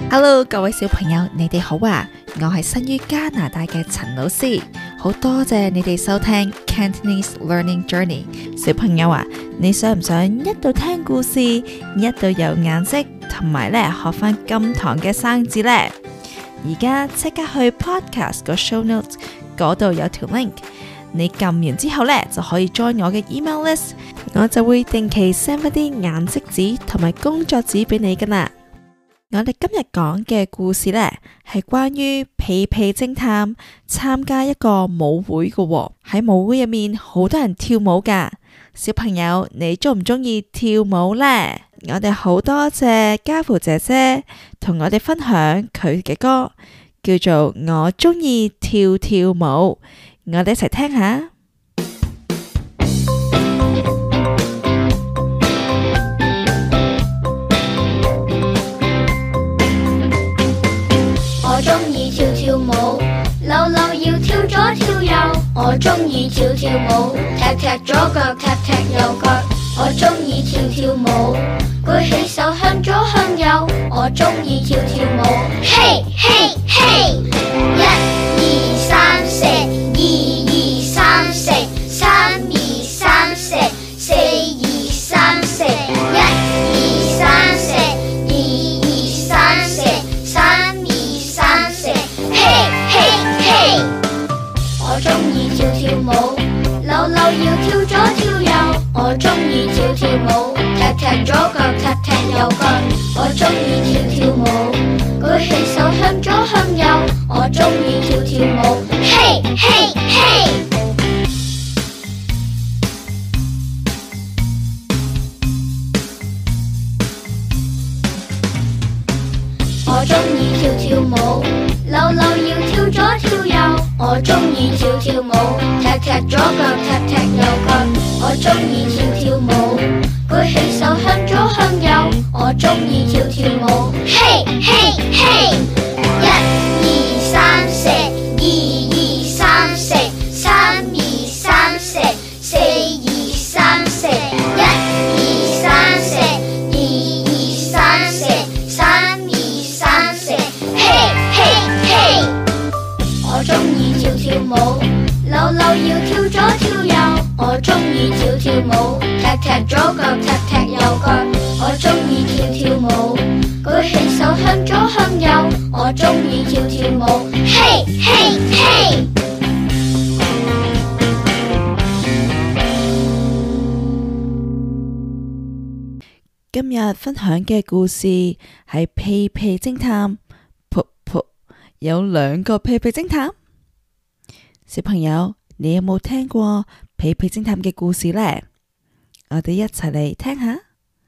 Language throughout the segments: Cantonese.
Hello， 各位小朋友，你哋好啊！我係生於加拿大嘅陳老師，好多謝你哋收聽 Cantonese Learning Journey。小朋友啊，你想唔想一度聽故事，一度有顏色，同埋咧學翻今堂嘅生字呢？而家即刻去 Podcast 個 Show Notes 嗰度有條 link， 你撳完之後咧就可以 join 我嘅 email list， 我就會定期 send 一啲顏色紙同埋工作紙俾你噶啦。我哋今日講嘅故事呢，係關於屁屁偵探參加一個舞會嘅喎。喺舞會入面，好多人跳舞噶。小朋友，你中唔中意跳舞呢？我哋好多謝家父姐姐同我哋分享佢嘅歌，叫做《我中意跳跳舞》。我哋一齊聽下。 我中意跳跳舞，扭扭要跳左跳右。我中意跳跳舞，踢踢左腳，踢踢右腳。我中意跳跳舞，舉起手向左向右。我中意跳跳舞，嘿嘿嘿！一二三四，二二三四，三二三四，四二三四，一二三四，二二三四，三二三四，嘿嘿嘿！我中意跳跳舞，扭扭要跳左跳右。我中意跳跳舞，踢踢左腳，踢踢右腳。我中意跳跳舞，舉起手向左向右。我中意跳跳舞，嘿嘿嘿！我中意跳跳舞，扭扭要跳左跳右。我中意跳跳舞，踢踢左腳，踢踢右腳。我中意跳跳舞，舉起手向左向右。我中意跳跳舞，嘿嘿嘿！一二三四，二二三四，三二三四，四二三四，一二三四，二二三四，三二三四，嘿嘿嘿！我中意跳跳舞，扭扭要跳左跳右。我中意跳跳舞，踢踢左腳，踢踢右腳。我中意跳跳舞，舉起手向左向右。我中意跳跳舞，嘿嘿嘿！ 今日分享嘅故事係屁屁偵探。噗噗，有兩個屁屁偵探。小朋友，你有冇聽過屁屁偵探嘅故事呢？我哋一齊嚟聽下。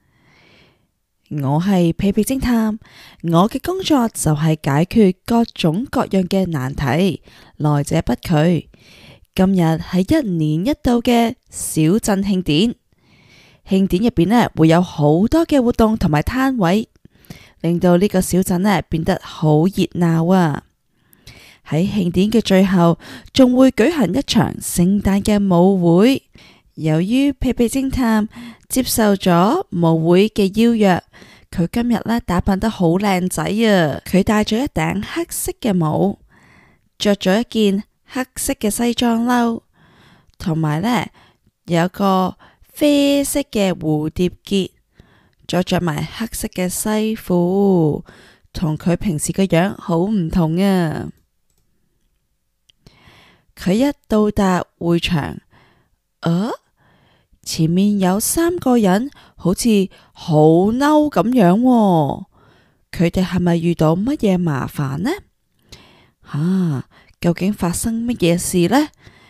我係屁屁偵探，我嘅工作就係解決各種各樣嘅難題，來者不拒。今日係一年一度嘅小鎮慶典，慶典入邊呢會有好多嘅活動同埋攤位，令到呢個小鎮呢變得好熱鬧啊！喺慶典嘅最後，仲會舉行一場聖誕嘅舞會。由於屁屁偵探接受咗舞會嘅邀約，佢今日呢打扮得好靚仔啊！佢戴咗一頂黑色嘅帽，着咗一件黑色嘅西裝褸，同埋呢有個啡色嘅蝴蝶結，再着埋黑色嘅西褲，同佢平時嘅樣好唔同啊！佢一到達會場，前面有3個人，好似好嬲咁樣喎。佢哋係咪遇到乜嘢麻煩呢？究竟發生乜嘢事呢？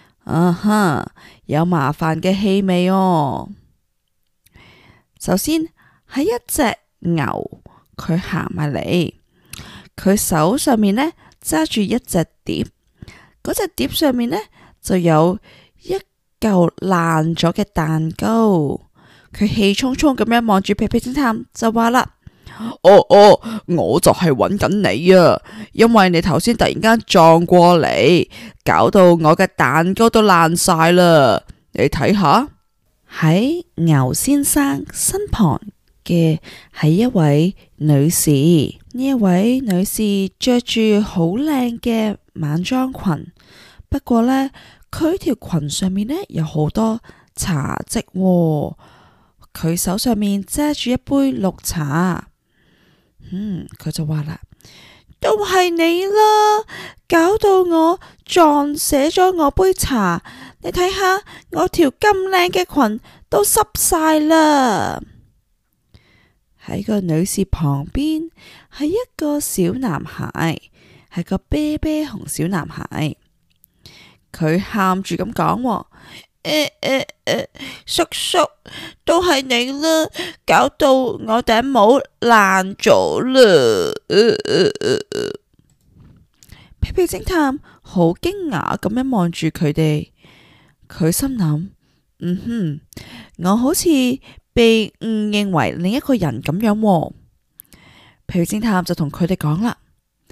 有麻煩嘅氣味哦。首先係一隻牛，佢行埋嚟，佢手上面呢揸住一隻碟。嗰隻碟上面呢，就有一嚿爛咗嘅蛋糕。佢氣沖沖咁樣望住屁屁偵探，就話啦：我就係揾緊你啊，因為你頭先突然間撞過嚟，搞到我嘅蛋糕都爛晒啦。你睇下，喺牛先生身旁嘅係一位女士。呢一位女士着住好靚嘅晚裝裙，不過呢，佢條裙上面呢有好多茶漬喎。佢手上面揸住一杯綠茶。佢就話啦，都係你啦，搞到我撞瀉咗我杯茶。你睇下我條咁靚嘅裙都濕晒啦。喺個女士旁邊係一個小男孩，係個啤啤熊小男孩。佢喊住咁講，叔叔，都係你啦，搞到我頂帽爛咗啦。屁屁偵探好驚訝咁樣望住佢哋，佢心諗，我好似被誤認為另一個人咁樣喎。屁屁偵探就同佢哋講啦，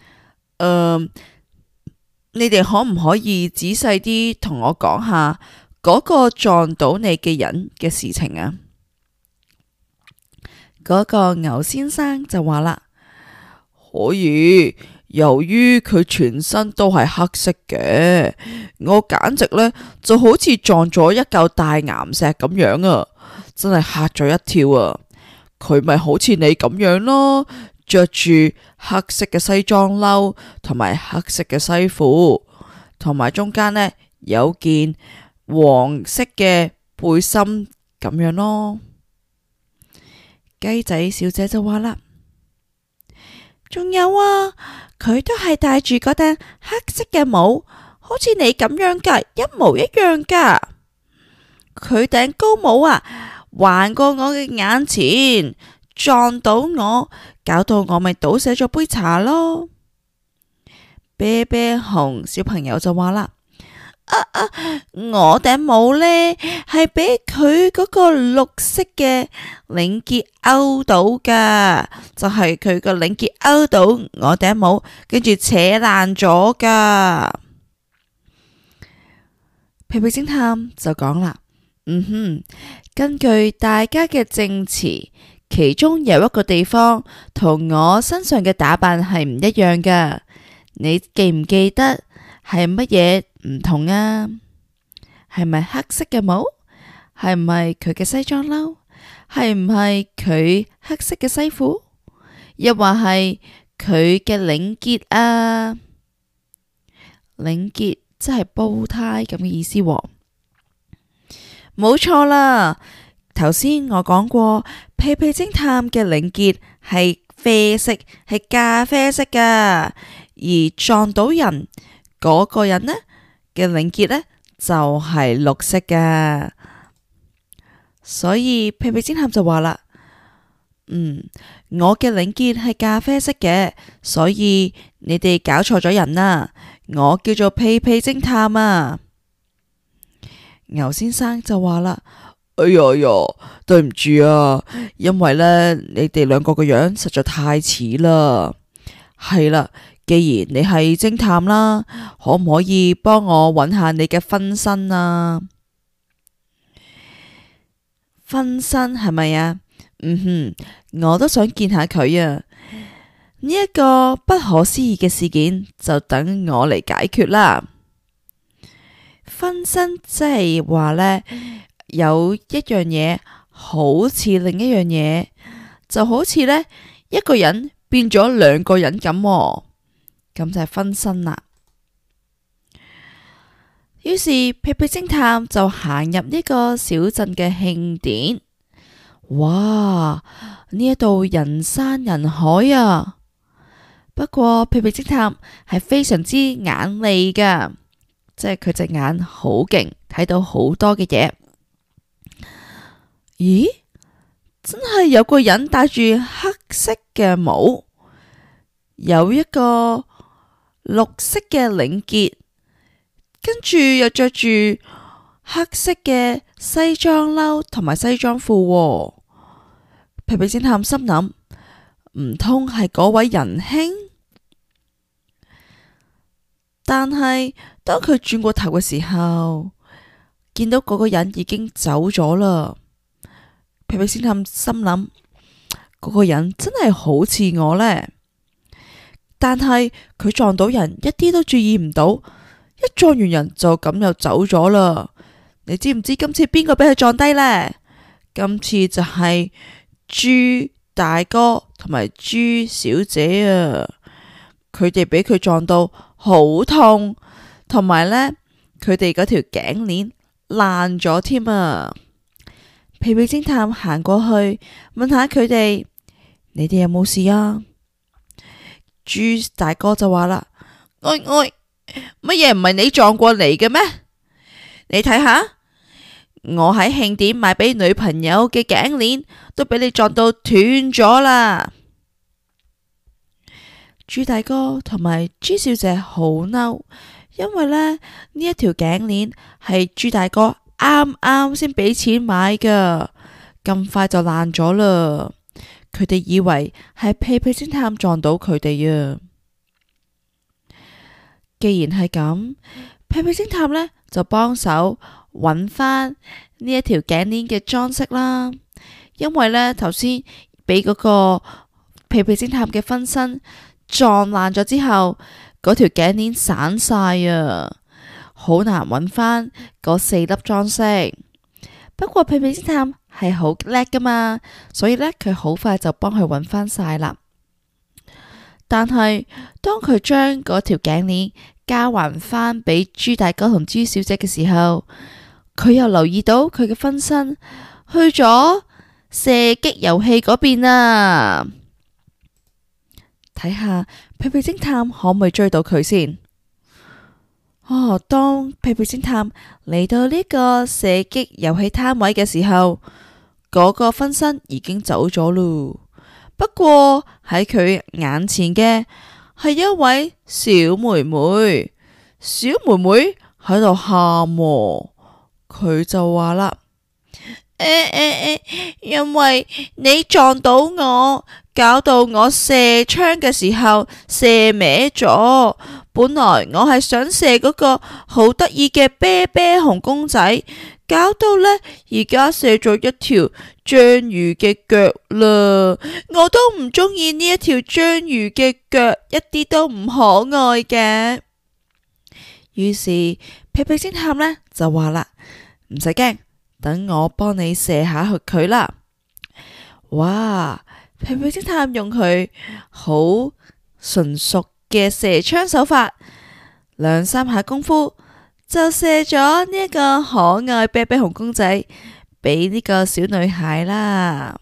你哋可唔可以仔細啲同我講下嗰個撞到你嘅人嘅事情啊？嗰個牛先生就話啦，可以。由於佢全身都係黑色嘅，我簡直呢就好似撞咗一嚿大岩石咁樣啊！真係嚇咗一跳啊！佢咪好似你咁樣咯，着住黑色嘅西裝褸同埋黑色嘅西褲，同埋中間呢有件黃色嘅背心咁樣咯。雞仔小姐就話啦，仲有啊，佢都係戴住嗰頂黑色嘅帽，好似你咁樣噶，一模一樣噶。佢頂高帽啊，橫過我嘅眼前，撞到我，搞到我咪倒瀉咗杯茶咯。啤啤熊小朋友就話啦，我頂帽呢係俾佢嗰個綠色嘅領結勾到噶，就係佢個領結勾到我頂帽，跟住扯爛咗噶。屁屁偵探就講啦，根據大家嘅證詞，其中有一個地方同我身上嘅打扮係唔一樣噶，你記唔記得係乜嘢唔同啊？係咪黑色嘅帽？係唔係佢嘅西裝褸？係唔係佢黑色嘅西褲？又或係佢嘅領結啊？領結即係煲呔咁嘅意思喎。冇錯啦，頭先我講過，屁屁偵探嘅領結係啡色，係咖啡色噶，而撞到人嗰個人呢嘅領結呢就係綠色噶。所以屁屁偵探就話啦，我嘅領結係咖啡色嘅，所以你哋搞錯咗人啦。我叫做屁屁偵探啊。牛先生就話啦，哎呀，對唔住啊，因為呢，你哋兩個個樣實在太似啦。係啦，既然你係偵探啦，可唔可以幫我揾下你嘅分身啊？分身係咪啊？我都想見下佢啊！呢一個不可思議嘅事件就等我嚟解決啦。分身即係話呢，有一樣嘢好似另一樣嘢，就好似呢一個人變咗兩個人咁，咁就係分身啦。於是屁屁偵探就行入呢個小鎮嘅慶典。哇！呢一度人山人海啊！不過屁屁偵探係非常之眼利噶，即係佢隻眼好勁，睇到好多嘅嘢。咦？真係有個人戴住黑色嘅帽，有一個綠色嘅領結，跟住又着住黑色嘅西裝褸同埋西裝褲。屁屁偵探心諗，唔通係嗰位仁兄？但係當佢轉過頭嘅時候，見到嗰個人已經走咗啦。屁屁偵探心諗， 嗰個人真係好似我呢。但係佢撞到人一啲都注意唔到，一撞完人就咁又走咗啦。你知唔知今次邊個俾佢撞低呢？今次就係豬大哥同埋豬小姐啊！佢哋俾佢撞到好痛，同埋呢，佢哋嗰條頸鏈爛咗添啊！屁屁偵探行過去問下佢哋：你哋有冇事啊？豬大哥就話啦：乜嘢唔係你撞過嚟嘅咩？你睇下，我喺慶典買俾女朋友嘅頸鏈都俾你撞到斷咗啦！豬大哥同埋豬小姐好嬲，因為呢一條頸鏈係豬大哥啱啱先俾錢買噶，咁快就爛咗啦。佢哋以為係屁屁偵探撞到佢哋啊。既然係咁，屁屁偵探呢就幫手揾翻呢一條頸鏈嘅裝飾啦。因為呢頭先俾嗰個屁屁偵探嘅分身撞爛咗之後，嗰條頸鏈散晒啊，好難揾翻嗰4粒裝飾。不過屁屁偵探係好叻噶嘛，所以呢，佢好快就幫佢揾翻晒啦。但係當佢將嗰條頸鏈交還翻俾豬大哥同豬小姐嘅時候，佢又留意到佢嘅分身去咗射擊遊戲嗰邊啊！睇下屁屁偵探可唔可以追到佢先？當屁屁偵探嚟到呢個射擊遊戲攤位嘅時候，嗰個分身已經走咗咯。不過喺佢眼前嘅係一位小妹妹，小妹妹喺度喊，佢就話啦：因為你撞到我，搞到我射槍嘅時候射歪咗。本來我係想射嗰個好得意嘅啤啤熊公仔，搞到呢而家射咗一條章魚嘅腳啦。我都唔中意呢一條章魚嘅腳，一啲都唔可愛嘅。於是屁屁偵探呢就話啦：唔使驚，等我幫你射下佢啦。哇！屁屁偵探用佢好純熟嘅射槍手法，2-3下功夫就射咗呢一個可愛啤啤熊公仔俾呢個小女孩啦。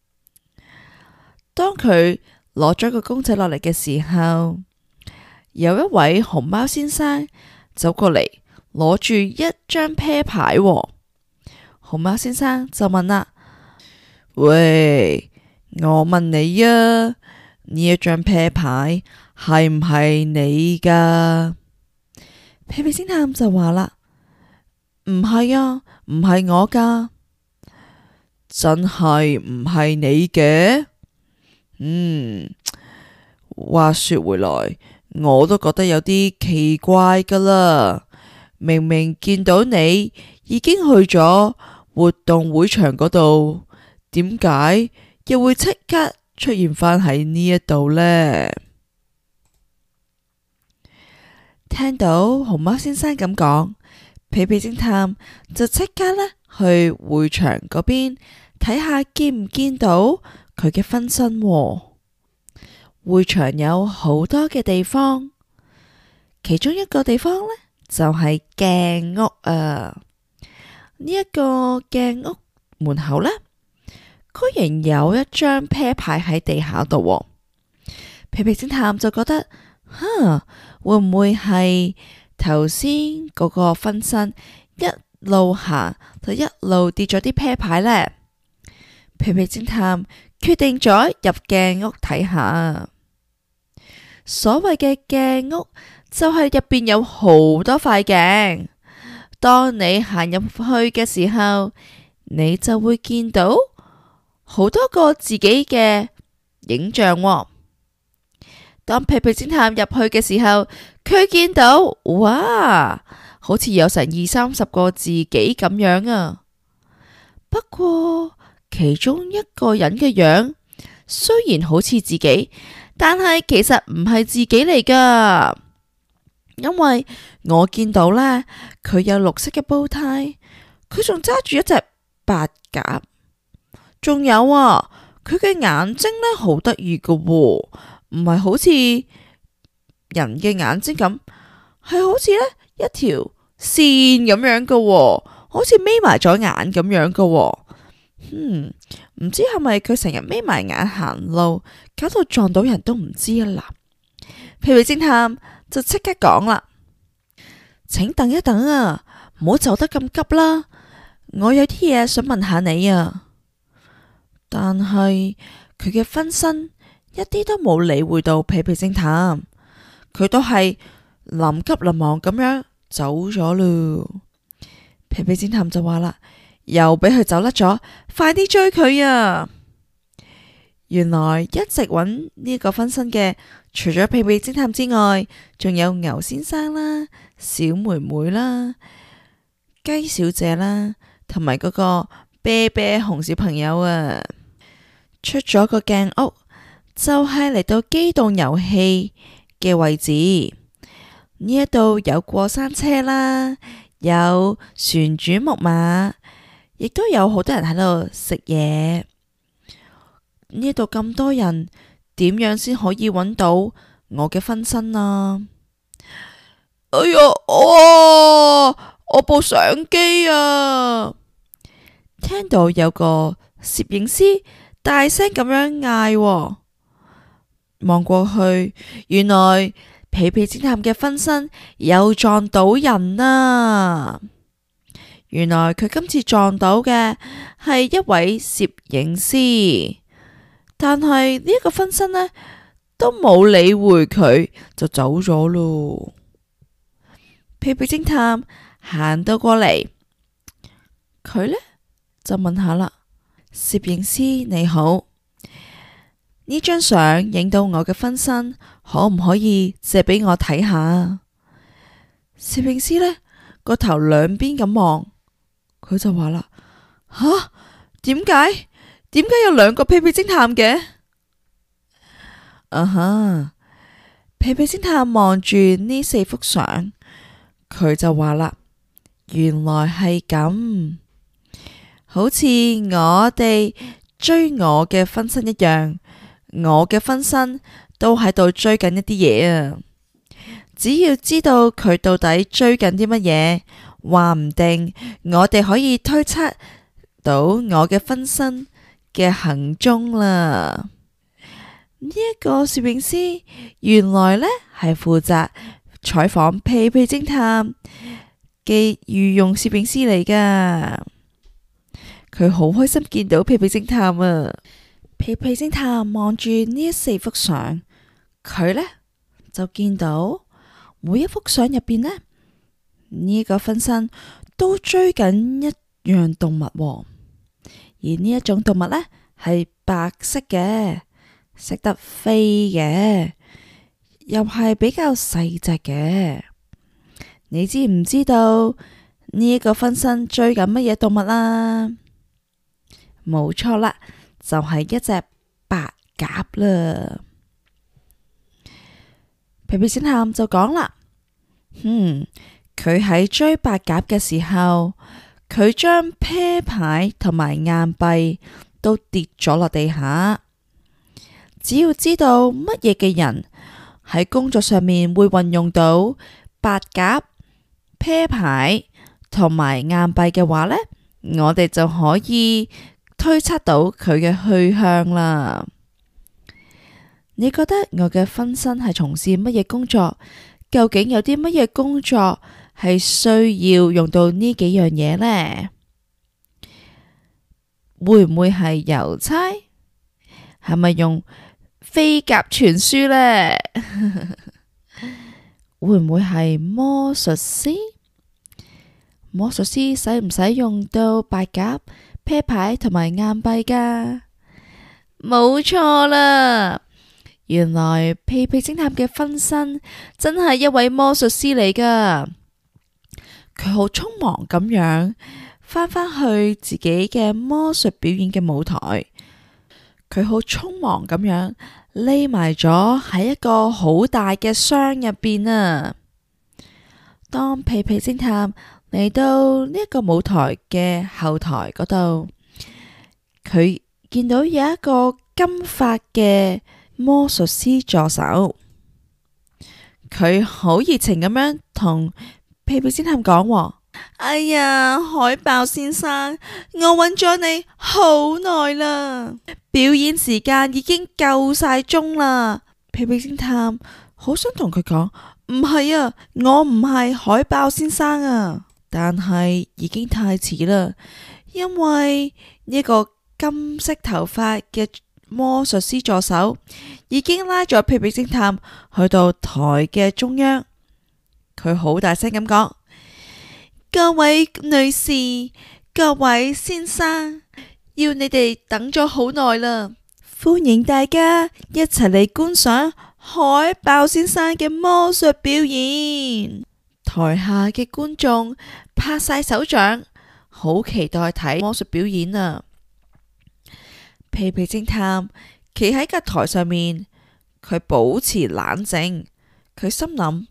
當佢攞咗個公仔落嚟嘅時候，有一位熊貓先生走過嚟，攞住一張啤牌。熊貓先生就問啦：喂，我問你啊，呢一張啤牌係唔係你噶？屁屁偵探就話啦：唔係啊，唔係我噶。真係唔係你嘅？話說回來，我都覺得有啲奇怪噶啦。明明見到你已經去咗活動會場嗰度，點解又會即刻出現返喺呢一度呢？聽到熊貓先生咁講，屁屁偵探就即刻呢去會場嗰邊睇下見唔見到佢嘅分身。會場有好多嘅地方，其中一個地方呢就係鏡屋啊。呢一個鏡屋門口呢，居然有一張啤牌喺地下度。屁屁偵探就覺得，會唔會係頭先嗰個分身一路行就一路跌咗啲啤牌呢？屁屁偵探決定咗入鏡屋睇下。所謂嘅鏡屋就係入邊有好多塊鏡，當你行入去嘅時候，你就會見到好多個自己嘅影像。當屁屁偵探入去嘅時候，佢見到，哇，好似有成20-30個自己咁樣啊。不過其中一個人嘅樣雖然好似自己，但係其實唔係自己嚟噶。因為我見到呢，佢有綠色嘅煲呔，佢仲揸住一隻白鴿，仲有啊，佢嘅眼睛呢好得意噶，唔係好似人嘅眼睛咁，係好似呢一條線咁樣噶，好似眯埋咗眼咁樣噶。唔知係咪佢成日眯埋眼行路，搞到撞到人都唔知啊啦。屁屁偵探就即刻講啦，請等一等啊，唔好走得咁急啦，我有啲嘢想問下你啊。但係佢嘅分身一啲都冇理會到屁屁偵探，佢都係臨急臨忙咁樣走咗咯。屁屁偵探就話啦，又俾佢走甩咗，快啲追佢啊！原來一直揾呢個分身嘅，除咗屁屁偵探之外，仲有牛先生啦、小妹妹啦、雞小姐啦，同埋嗰個啤啤熊小朋友啊。出咗個鏡屋，就係嚟到機動遊戲嘅位置。呢一度有過山車啦，有旋轉木馬，亦都有好多人喺度食嘢。呢度咁多人，點樣先可以揾到我嘅分身啊？哎呀，我部相機啊！聽到有個攝影師大聲咁樣嗌，望過去，原來屁屁偵探嘅分身又撞到人啊！原來佢今次撞到嘅係一位攝影師，但係呢個分身呢都冇理會佢，就走咗咯。屁屁偵探行到過嚟，佢呢就問下啦，攝影師你好，呢張相影到我嘅分身，可唔可以借俾我睇下？攝影師呢個頭兩邊咁望，佢就話啦，吓，點解有兩個屁屁偵探嘅？屁屁偵探望住呢4幅相，佢就話啦，原來係咁，好似我哋追我嘅分身一樣，我嘅分身都喺度追緊一啲嘢啊！只要知道佢到底追緊啲乜嘢，話唔定我哋可以推測到我嘅分身嘅行蹤啦。呢一個攝影師原來呢係負責採訪屁屁偵探嘅御用攝影師嚟噶，佢好開心見到屁屁偵探啊！屁屁偵探望住呢4幅相，佢呢就見到每一幅相入邊呢，呢個分身都追緊一樣動物喎，而呢一種動物呢係白色嘅，識得飛嘅，又係比較細隻嘅。你知唔知道呢一個分身追緊乜嘢動物啦？冇錯啦，就係一隻白鴿啦。屁屁偵探就講啦，佢喺追白鴿嘅時候，佢將啤牌同埋硬幣都跌咗落地下。只要知道乜嘢嘅人喺工作上面會運用到白鴿、啤牌同埋硬幣嘅話呢，我哋就可以推測到佢嘅去向啦。你覺得我嘅分身係從事乜嘢工作？究竟有啲乜嘢工作係需要用到呢幾樣嘢呢？會唔會係郵差？係咪用飛鴿傳書呢？會唔會係魔術師？魔術師使唔使用到白鴿、啤牌同埋硬幣噶？冇錯啦，原來屁屁偵探嘅分身真係一位魔術師嚟噶。佢好匆忙咁樣返返去自己嘅魔術表演嘅舞台。 佢好匆忙咁樣匿埋咗喺一個好大嘅箱入邊啊。當屁屁偵探嚟到呢一個舞台嘅後台嗰度，佢見到有一個金髮嘅魔術師助手，佢好熱情咁樣同屁屁偵探講：哎呀，海豹先生，我揾咗你好耐啦，表演時間已經夠晒鐘啦。屁屁偵探好想同佢講：唔係啊，我唔係海豹先生啊，但係已經太遲啦，因為呢個金色頭髮嘅魔術師助手已經拉咗屁屁偵探去到台嘅中央，佢好大聲咁講：各位女士，各位先生，要你哋等咗好耐啦，歡迎大家一齊嚟觀賞海豹先生嘅魔術表演。台下嘅觀眾拍晒手掌，好期待睇魔術表演啊！屁屁偵探企喺個台上面，佢保持冷靜，佢心諗：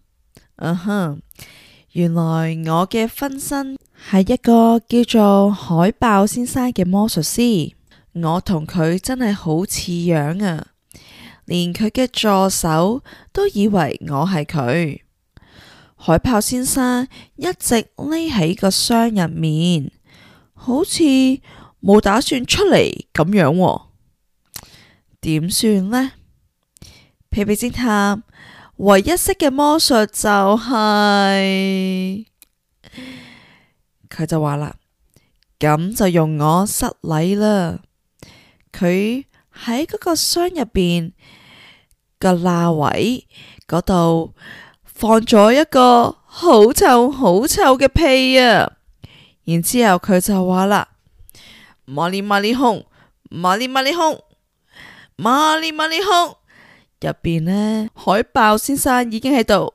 原來我嘅分身係一個叫做海豹先生嘅魔術師，我同佢真係好似樣啊！連佢嘅助手都以為我係佢。海豹先生一直匿喺個箱入面，好似冇打算出嚟咁樣喎，點算呢？屁屁偵探唯一識嘅魔術就係，佢就話啦，咁就用我失禮啦。佢喺嗰個箱入邊個罅位嗰度放咗一個好臭好臭嘅屁啊！然之後佢就話啦：瑪麗瑪麗空，瑪麗瑪麗空，瑪麗瑪麗空。入邊呢，海豹先生已經喺度，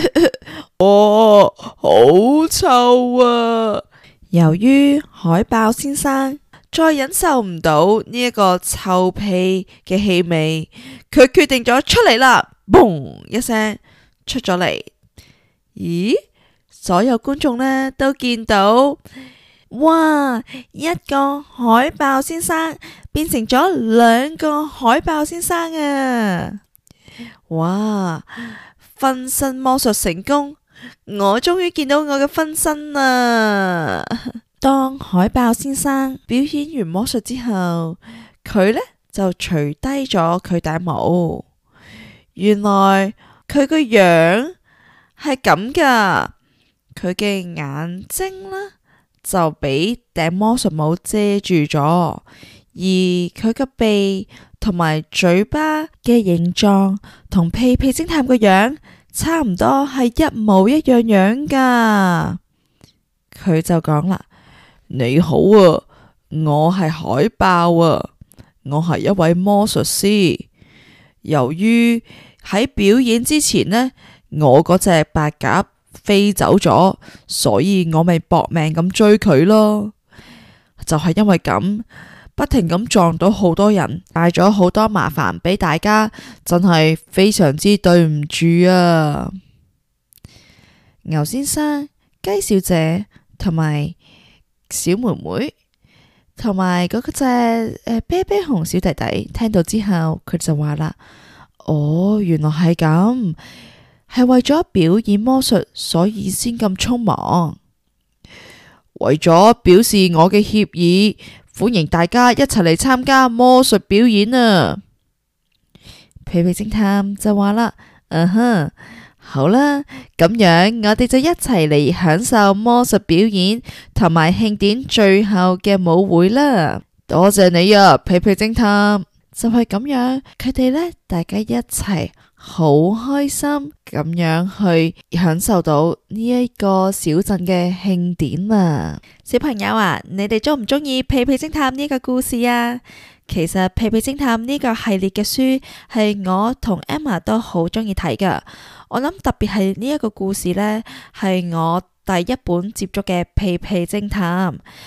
好臭啊！由於海豹先生再忍受唔到呢一個臭屁嘅氣味，佢決定咗出嚟啦！嘣一聲出咗嚟。咦？所有觀眾呢都見到，哇！一個海豹先生變成咗兩個海豹先生啊！哇！分身魔術成功，我終於見到我嘅分身啦！當海豹先生表演完魔術之後，佢呢就除低咗佢頂帽。原來佢個樣係咁噶，佢嘅眼睛呢就俾頂魔術帽遮住咗，而佢個鼻同埋嘴巴嘅形狀同屁屁偵探個樣差唔多，係一模一樣樣噶。佢就講啦：你好啊，我係海豹啊，我係一位魔術師。由於喺表演之前呢，我嗰隻白鴿飛走咗，所以我咪搏命咁追佢咯。就係因為咁，不停咁撞到好多人，帶咗好多麻煩俾大家，真係非常之對唔住啊！牛先生、雞小姐同埋小妹妹同埋嗰隻啤啤熊小弟弟聽到之後，佢就話啦：哦，原來係咁，係為咗表演魔術，所以先咁匆忙。為咗表示我嘅歉意，歡迎大家一齊嚟參加魔術表演啊！屁屁偵探就話啦：好啦，咁樣我哋就一齊嚟享受魔術表演同埋慶典最後嘅舞會啦！多謝你啊，屁屁偵探！就係咁樣，佢哋呢，大家一齊好開心咁樣去享受到呢一個小鎮嘅慶典啊！小朋友啊，你哋鍾唔鍾意屁屁偵探呢個故事啊？其實屁屁偵探呢個系列嘅書係我同 Emma 都好鍾意睇噶。我諗特別係呢一個故事呢，係我第一本接觸嘅屁屁偵探。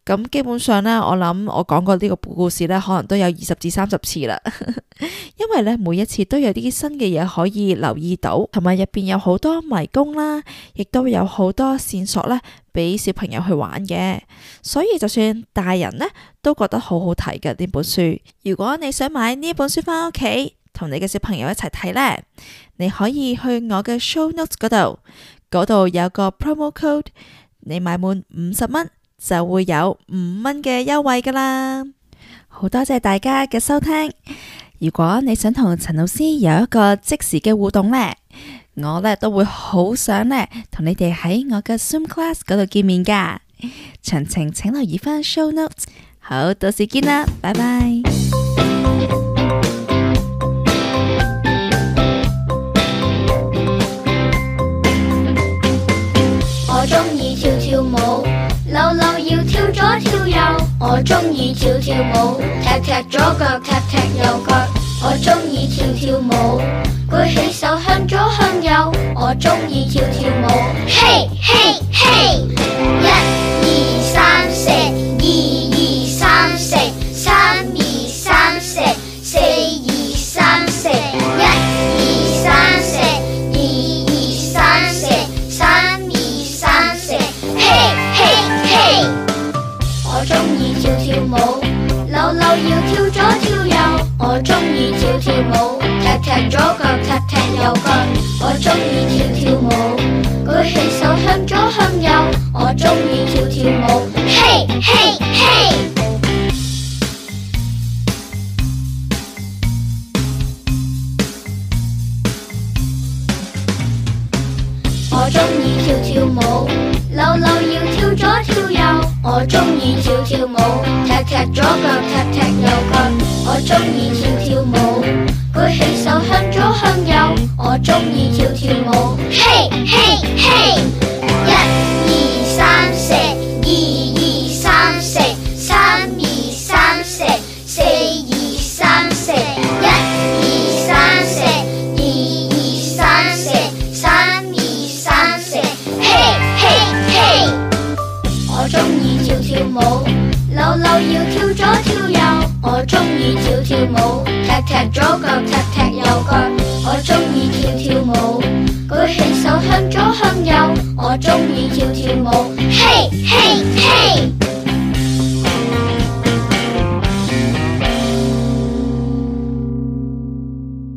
咁基本上呢，我諗我講過呢個故事呢，可能都有20至30次啦。因為呢，每一次都有啲新嘅嘢可以留意到，同埋入邊有好多迷宮啦，亦都有好多線索呢俾小朋友去玩嘅。所以就算大人呢都覺得好好睇嘅呢本書。如果你想買呢本書返屋企同你嘅小朋友一齊睇呢，你可以去我嘅 show notes 嗰度有個 promo code， 你買滿50蚊就會有5蚊嘅優惠噶啦。好多謝大家嘅收聽。如果你想同陳老師有一個即時嘅互動呢，我呢都會好想呢同你哋喺我嘅 Zoom class 嗰度見面噶。詳情請留意返 show notes。好，到時見啦，拜拜。 我鍾意跳跳舞，扭扭要跳左跳右。我鍾意跳跳舞，踢踢左腳，踢踢右腳。我鍾意跳跳舞，舉起手向左向右。我鍾意跳跳舞，嘿嘿嘿！1、2、3、4，1、2、3、4，3、2、3、4，4、2、3、4，1、2、3、4，2、2、3、4，3、2、3、4，嘿嘿嘿！我鍾意跳跳舞，扭扭要跳左跳右。我鍾意跳跳舞，踢踢左腳，踢踢右腳。我鍾意跳跳舞，舉起手向左向右。我鍾意跳跳舞，嘿嘿嘿！我鍾意跳跳舞，扭扭要跳左跳右。我鍾意跳跳舞，踢踢左腳，踢踢右腳。我鍾意跳跳舞，舉起手向左向右。我鍾意跳跳舞，嘿嘿嘿！1、2、3、4，1、2、3、4，3、2、3、4，4、2、3、4，1、2、3、4，2、2、3、4，3、2、3、4，嘿嘿嘿！我鍾意跳跳舞，扭扭要跳左跳右。我鍾意跳跳舞，踢踢左腳，踢踢右腳。我鍾意跳跳舞，舉起手向左向右。我鍾意跳跳舞，嘿嘿！